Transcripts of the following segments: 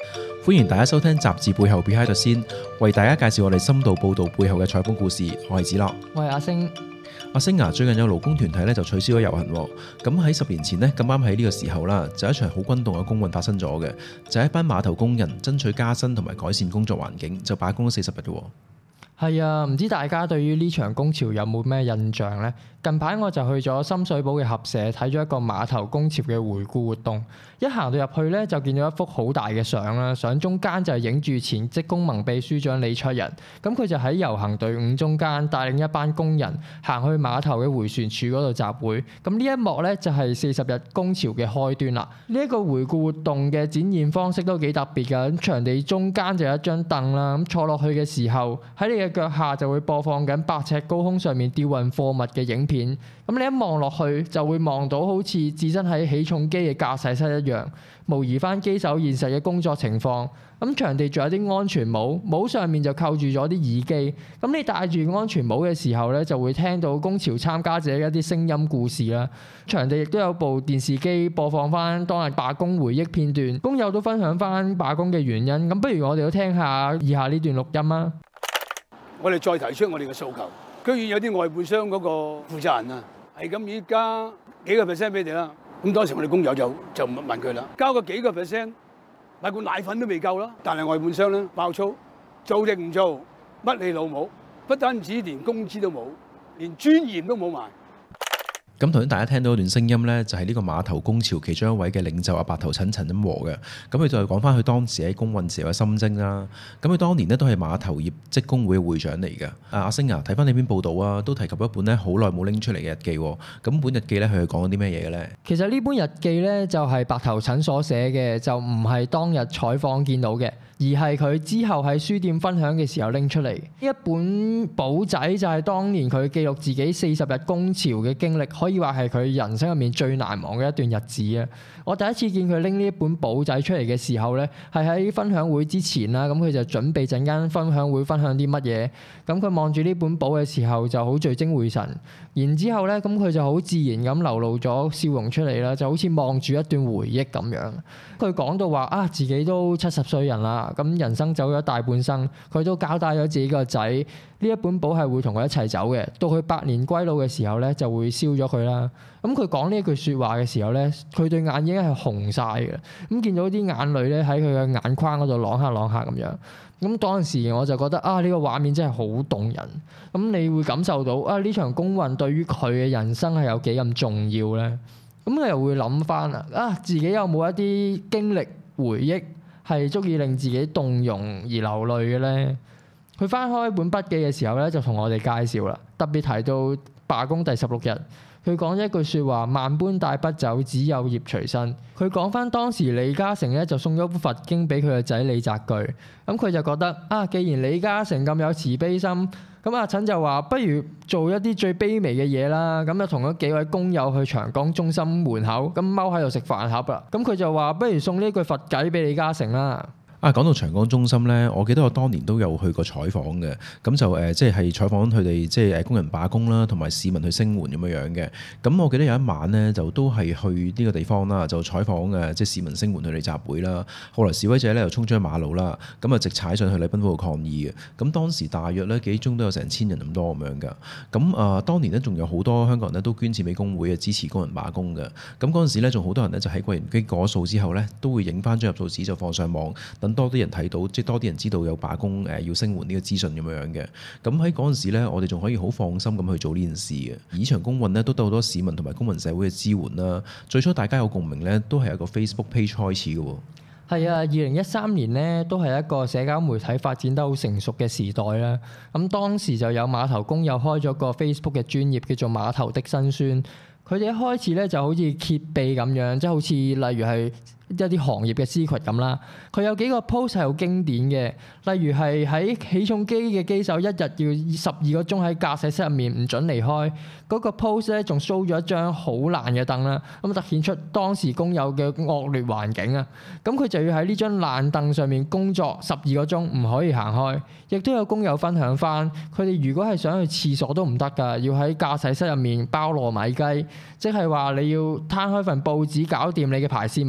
歡迎大家收聽雜誌背後 Behind the Scene，為大家介紹我哋深度報道背後嘅採訪故事。我係子樂， 我係阿星。 阿星啊，最近有勞工團體咧就取消咗遊行，咁喺10年前呢，咁啱喺呢個時候啦，就一場好轟動嘅工運發生咗嘅，就係一班碼頭工人爭取加薪同埋改善工作環境，就罷工咗40日嘅。 係啊，唔知大家對於呢場工潮有冇咩印象呢？近排我就去咗深水埗嘅合社睇咗一個碼頭工潮嘅回顧活動，一行到入去咧就見到一幅好大嘅相啦，相中間就係影住前職工盟秘書長李卓人，咁佢就喺遊行隊伍中間帶領一班工人行去碼頭嘅迴旋處嗰度集會，咁呢一幕咧就係40日工潮嘅開端啦。呢一個回顧活動嘅展現方式都幾特別㗎，咁場地中間就有一張凳啦，咁坐落去嘅時候喺你嘅腳下就會播放緊8尺高空上面吊運貨物嘅影片，咁你一望落去就會望到好似置身喺起重機嘅駕駛室一樣，模擬翻機手現實嘅工作情況。咁場地仲有啲安全帽，帽上面就扣住咗啲耳機，咁你戴住安全帽嘅時候咧，就會聽到工潮參加者嘅一啲聲音故事啦。場地亦都有部電視機播放翻當日罷工回憶片段，工友都分享翻罷工嘅原因。咁不如我哋都聽下以下呢段錄音啊！ 我哋再提出我哋嘅訴求，居然有啲外判商嗰個負責人啊，係咁而加幾個 percent 俾你啦。咁當時我哋工友就問佢啦，交個幾個 percent， 買罐奶粉都未夠啦。但係外判商咧爆粗，做亦唔做，乜你老母，不單止連工資都冇，連尊嚴都冇埋。 咁頭先大家聽到一段聲音呢，就係呢個碼頭工潮其中一位嘅領袖阿白頭陳陳金和嘅。咁佢就係講翻佢當時喺工運時候嘅心聲啦。咁佢當年呢，都係碼頭業職工會嘅會長嚟嘅。阿星啊，睇翻呢篇報道啊，都提及一本呢好耐冇拎出嚟嘅日記。咁本日記呢，佢係講緊啲咩嘢嘅呢？其實呢本日記呢，就係白頭陳所寫嘅，就唔係當日採訪見到嘅，而係佢之後喺書店分享嘅時候拎出嚟。一本簿仔就係當年佢記錄自己40日工潮嘅經歷，可以話係佢人生入面最難忘嘅一段日子啊！我第一次見佢拎呢一本簿仔出嚟嘅時候咧，係喺分享會之前啦，咁佢就準備陣間分享會分享啲乜嘢，咁佢望住呢本簿嘅時候就好聚精會神，然之後咧，咁佢就好自然咁流露咗笑容出嚟啦，就好似望住一段回憶咁樣。佢講到話啊，自己都70歲人啦，咁人生走咗大半生，佢都交代咗自己個仔呢一本簿係會同佢一齊走嘅，到佢百年歸老嘅時候咧就會燒咗佢啦。咁佢講呢一句説話嘅時候咧，佢對眼已經係紅晒嘅，咁見到啲眼淚咧喺佢嘅眼眶嗰度啷下啷下咁樣。咁當時我就覺得啊，呢個畫面真係好動人。咁你會感受到啊，呢場工運對於佢嘅人生係有幾咁重要咧？咁你又會諗翻啊，自己有冇一啲經歷回憶係足以令自己動容而流淚嘅咧？佢翻開本筆記嘅時候咧，就同我哋介紹啦，特別提到罷工第16日。佢講咗一句説話：萬般帶不走，只有業隨身。佢講翻當時李嘉誠咧就送咗本佛經俾佢個仔李澤鉅，咁佢就覺得啊，既然李嘉誠咁有慈悲心，咁阿陳就話不如做一啲最卑微嘅嘢啦。咁就同咗幾位工友去長江中心門口咁踎喺度食飯盒啦。咁佢就話不如送呢句佛偈俾李嘉誠啦。 講到長江中心呢，我記得我當年都有去過採訪嘅，咁就即係採訪佢哋即係工人罷工啦，同埋市民去聲援咁樣嘅。咁我記得有一晚呢，就都係去呢個地方啦，就採訪即係市民聲援佢哋集會啦。後來示威者呢又衝咗馬路啦，咁啊直踩上去禮賓府度抗議嘅。咁當時大約呢幾鐘都有成1000人咁多咁樣㗎。咁當年呢，仲有好多香港人呢都捐錢俾工會啊，支持工人罷工嘅。咁嗰陣時呢，仲好多人呢就喺櫃員機過數之後呢，都會影翻張入數紙就放上網。多啲人睇到，即係多啲人知道有罷工要聲援呢個資訊咁樣嘅。咁喺嗰陣時咧，我哋仲可以好放心咁去做呢件事嘅。呢場工運呢，都得好多市民同埋公民社會嘅支援啦。最初大家有共鳴呢，都係一個 Facebook page 開始嘅。 係啊，2013年呢，都係一個社交媒體發展得好成熟嘅時代啦。咁當時就有碼頭工友開咗個 Facebook 嘅專頁叫做碼頭的辛酸。佢哋一開始咧就好似揭秘咁樣，即係好似例如係一啲行業嘅 secret 咁啦。佢有幾個 post 係好經典嘅，例如係喺起重機嘅機手一日要12個鐘喺駕駛室入面唔准離開。嗰個 post 咧仲 show 咗一張好爛嘅凳啦，咁突顯出當時工友嘅惡劣環境啊。咁佢就要喺呢張爛凳上面工作12個鐘，唔可以行開。亦都有工友分享翻，佢哋如果係想去廁所都唔得㗎，要喺駕駛室入面包糯米雞，即係話你要攤開份報紙搞掂你嘅排泄物，然之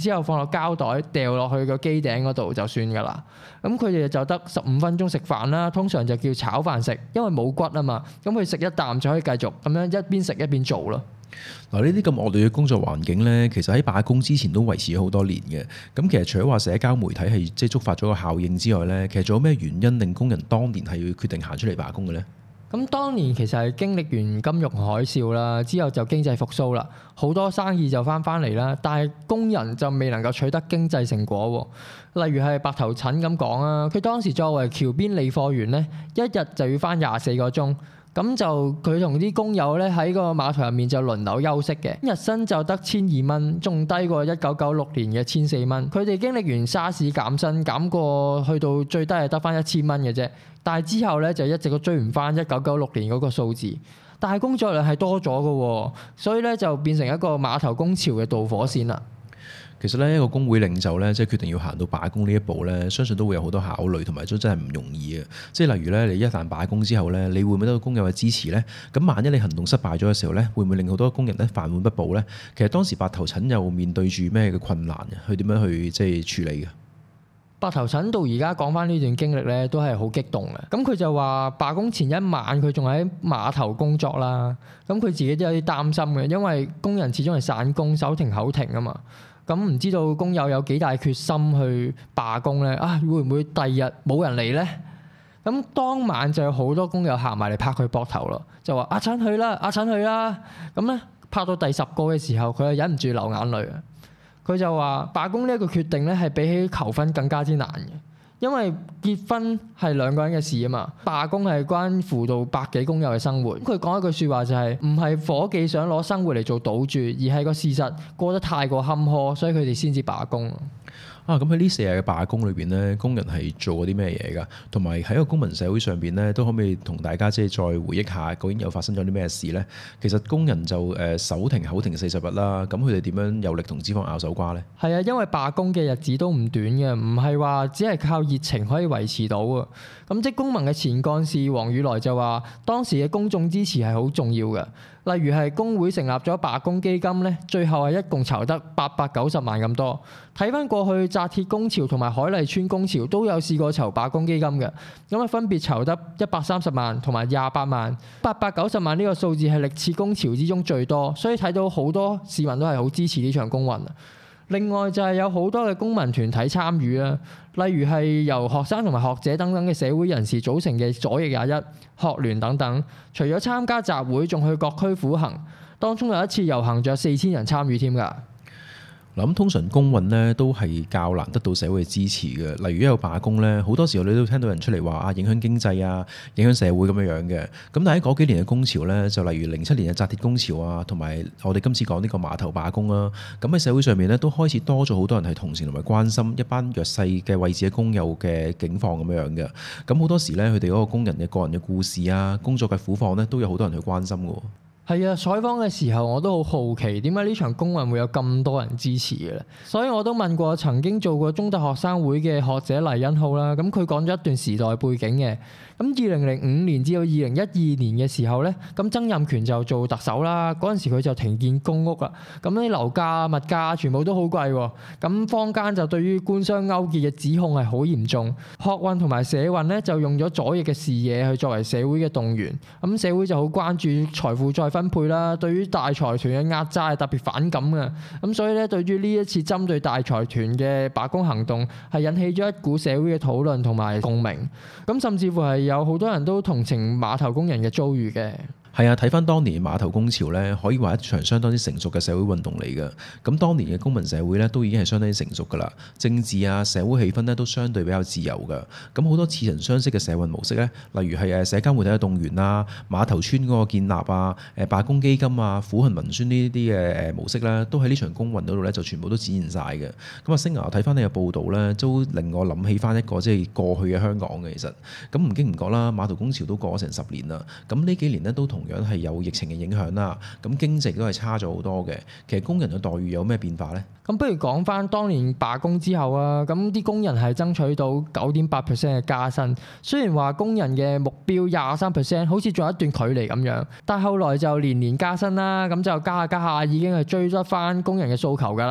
之後放落膠袋掉落去個機頂嗰度就算㗎啦。咁佢哋就得15分鐘食飯啦，通常就叫炒飯食，因為冇骨啊嘛。咁佢食一啖就可以繼續咁樣一邊食一邊做咯。 嗱，呢啲咁惡劣嘅工作環境呢，其實喺罷工之前都維持咗好多年嘅。咁其實除咗話社交媒體係即係觸發咗個效應之外呢，其實仲有咩原因令工人當年係要決定行出嚟罷工嘅呢？ 咁當年其實係經歷完金融海嘯啦，之後就經濟復甦啦，好多生意就翻嚟啦，但係工人就未能夠取得經濟成果喎。例如係白頭陳咁講啊，佢當時作為橋邊理貨員呢，一日就要翻24個鐘。咁就佢同啲工友咧喺個碼頭入面就輪流休息嘅，日薪就得1200蚊，仲低過1996年嘅1400蚊。佢哋經歷完沙士減薪，減過去到最低係得翻1000蚊嘅啫。但係之後咧就一直都追唔翻1996年嗰個數字。但係工作量係多咗嘅，所以咧就變成一個碼頭工潮嘅導火線啦。 其實咧，一個工會領袖咧，即係決定要行到罷工呢一步咧，相信都會有好多考慮，同埋都真係唔容易嘅。即係例如咧，你一旦罷工之後咧，你會唔會得到工友嘅支持咧？咁萬一你行動失敗咗嘅時候咧，會唔會令好多工人咧飯碗不保咧？其實當時白頭陳又面對住咩嘅困難嘅？佢點樣去即係處理嘅？ 白頭陳到而家講翻呢段經歷咧，都係好激動嘅。咁佢就話罷工前一晚佢仲喺碼頭工作啦。咁佢自己都有啲擔心嘅，因為工人始終係散工，手停口停啊嘛。咁唔知道工友有幾大決心去罷工咧？啊，會唔會第二日冇人嚟咧？咁當晚就有好多工友行埋嚟拍佢膊頭咯，就話阿陳去啦，阿陳去啦。咁咧拍到第10個嘅時候，佢就忍唔住流眼淚啊！佢就話罷工呢一個決定咧，係比起求婚更加之難嘅。因為結婚係兩個人嘅事啊嘛，罷工係關乎到百幾工友嘅生活。佢講一句説話就係唔係夥計想攞生活嚟做賭注，而係個事實過得太過坎坷，所以佢哋先至罷工。 咁喺呢4日嘅罷工裏邊咧，工人係做過啲咩嘢㗎？同埋喺一個公民社會上邊咧，都可唔可以同大家即係再回憶下，究竟又發生咗啲咩事咧？其實工人就手停口停40日啦，咁佢哋點樣有力同資方拗手瓜咧？係啊，因為罷工嘅日子都唔短嘅，唔係話只係靠熱情可以維持到啊。咁職工盟嘅前幹事黃宇來就話，當時嘅公眾支持係好重要嘅。例如係工會成立咗罷工基金咧，最後係一共籌得890萬咁多。睇翻過去紮鐵工潮同埋海麗村工潮都有試過籌罷工基金嘅，咁啊分別籌得130萬同埋28萬。890萬呢個數字係歷次工潮之中最多，所以睇到好多市民都係好支持呢場工運。另外就係有好多嘅公民團體參與啦，例如係由學生同埋學者等等嘅社會人士組成嘅左翼21學聯等等，除咗參加集會，仲去各區苦行，當中有一次遊行，仲有4000人參與添㗎。 嗱，咁通常工運咧都係較難得到社會嘅支持嘅。例如一有罷工咧，好多時候你都聽到人出嚟話影響經濟啊，影響社會咁樣嘅。咁但係喺嗰幾年嘅工潮咧，就例如07年嘅紮鐵工潮啊，同埋我哋今次講呢個碼頭罷工啊，咁喺社會上面咧都開始多咗好多人係同情同埋關心一班弱勢嘅位置嘅工友嘅境況咁樣嘅。咁好多時咧，佢哋嗰個工人嘅個人嘅故事啊，工作嘅苦況咧，都有好多人去關心嘅。 係啊，採訪嘅時候我都好好奇，點解呢場工運會有咁多人支持嘅咧？所以我都問過曾經做過中大學生會嘅學者黎恩浩啦，咁佢講咗一段時代背景嘅。咁2005年至到2012年嘅時候咧，咁曾蔭權就做特首啦，嗰陣時佢就停建公屋啦，咁啲樓價、物價全部都好貴喎。咁坊間就對於官商勾結嘅指控係好嚴重，學運同埋社運咧就用咗左翼嘅視野去作為社會嘅動員，咁社會就好關注財富再分配啦，對於大財團嘅壓榨係特別反感嘅，咁所以咧對於呢一次針對大財團嘅罷工行動係引起咗一股社會嘅討論同埋共鳴，咁甚至乎係有好多人都同情碼頭工人嘅遭遇嘅。 係啊，睇翻當年碼頭工潮咧，可以話一場相當之成熟嘅社會運動嚟嘅。咁當年嘅公民社會咧，都已經係相當之成熟噶啦。政治啊、社會氣氛咧，都相對比較自由噶。咁好多似曾相識嘅社運模式咧，例如係社交媒體嘅動員啊、碼頭村嗰個建立啊、罷工基金啊、苦行文宣呢啲嘅模式咧，都喺呢場工運嗰度咧，就全部都展現晒嘅。咁啊，星牙睇翻呢個報導咧，都令我諗起翻一個即係過去嘅香港嘅。其實咁唔經唔覺啦，碼頭工潮都過咗成10年啦。咁呢幾年咧都同樣係有疫情嘅影響啦，咁經濟都係差咗好多嘅。其實工人嘅待遇有咩變化呢？ 咁不如講翻當年罷工之後啊，咁啲工人係爭取到9.8% 嘅加薪。雖然話工人嘅目標23%，好似仲有一段距離咁樣，但後來就年年加薪啦，咁就加下已經係追得翻工人嘅訴求㗎啦。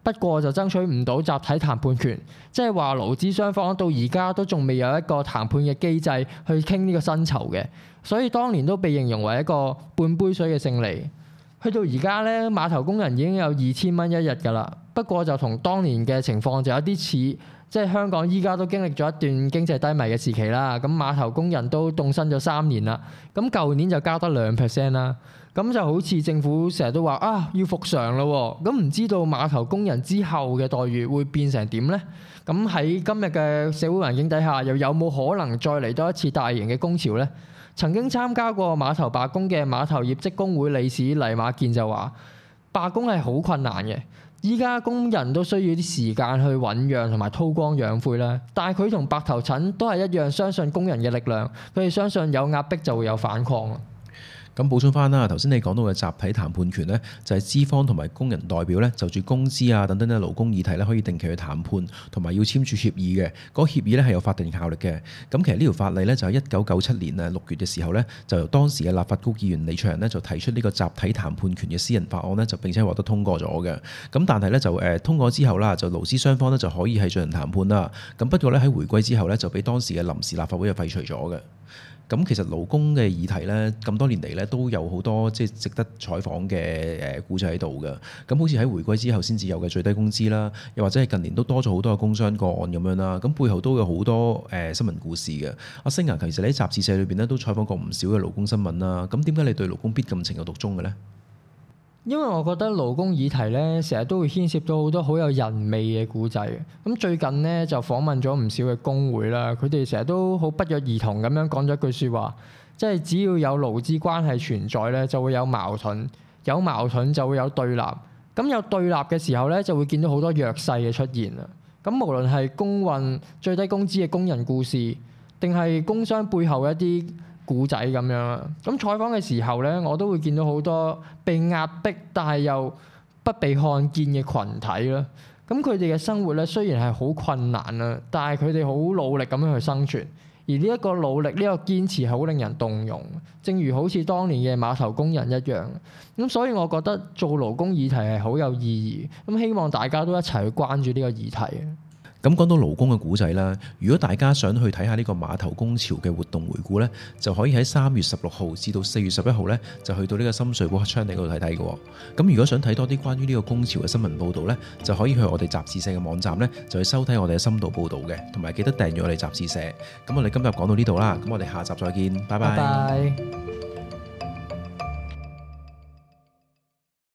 不過就爭取唔到集體談判權，即係話勞資雙方到而家都仲未有一個談判嘅機制去傾呢個薪酬嘅，所以當年都被形容為一個半杯水嘅勝利。去到而家咧，碼頭工人已經有2000蚊一日㗎啦。不過就同當年嘅情況就有啲似，即係香港依家都經歷咗一段經濟低迷嘅時期啦。咁碼頭工人都凍薪咗3年啦。咁舊年就加得2% 啦。咁就好似政府成日都話要復常咯。咁唔知道碼頭工人之後嘅待遇會變成點呢？咁喺今日嘅社會環境底下，又有冇可能再嚟多一次大型嘅工潮呢？曾經參加過碼頭罷工嘅碼頭業職工會理事黎馬健就話：罷工係好困難嘅，依家工人都需要啲時間去醞釀同埋韜光養晦啦。但係佢同白頭塵都係一樣，相信工人嘅力量，佢哋相信有壓迫就會有反抗。 咁補充翻啦，頭先你講到嘅集體談判權呢，就係資方同埋工人代表呢，就住工資啊等等嘅勞工議題呢，可以定期去談判，同埋要簽署協議嘅。嗰個協議呢係有法定效力嘅。咁其實呢條法例呢，就喺1997年6月嘅時候呢，就由當時嘅立法局議員李卓人呢，就提出呢個集體談判權嘅私人法案呢，就並且獲得通過咗嘅。咁但係呢，就通過之後啦，就勞資雙方呢，就可以係進行談判啦。咁不過呢，喺回歸之後呢，就俾當時嘅臨時立法會就廢除咗嘅。咁其實勞工嘅議題咧，咁多年嚟咧都有好多即係值得採訪嘅故仔喺度嘅。咁好似喺回歸之後先至有嘅最低工資啦，又或者係近年都多咗好多嘅工傷個案咁樣啦。咁背後都有好多新聞故事嘅。阿星其實你喺雜誌社裏邊咧都採訪過唔少嘅勞工新聞啦。咁點解你對勞工必咁情有獨鍾嘅咧？ 因為我覺得勞工議題咧，成日都會牽涉到好多好有人味嘅故仔。咁最近咧就訪問咗唔少嘅工會啦，佢哋成日都好不約而同咁樣講咗一句説話，即係只要有勞資關係存在咧，就會有矛盾，有矛盾就會有對立。咁有對立嘅時候咧，就會見到好多弱勢嘅出現啦。咁無論係工運、最低工資嘅工人故事，定係工傷背後一啲古仔咁樣啦，咁採訪嘅時候咧，我都會見到好多被壓迫但係又不被看見嘅群體啦。咁佢哋嘅生活咧雖然係好困難啦，但係佢哋好努力咁樣去生存，而呢一個努力、呢個堅持係好令人動容。正如好似當年嘅碼頭工人一樣。咁所以我覺得做勞工議題係好有意義。咁希望大家都一齊去關注呢個議題。 咁講到勞工嘅古仔啦，如果大家想去睇下呢個碼頭工潮嘅活動回顧呢，就可以喺3月16號至到4月11號呢，就去到呢個深水埗黑昌地嗰度睇睇嘅。咁如果想睇多啲關於呢個工潮嘅新聞報導呢，就可以去我哋雜誌社嘅網站呢，就去收睇我哋嘅深度報導嘅，同埋記得訂閱我哋雜誌社。咁我哋今日講到呢度啦，咁我哋下集再見，拜拜。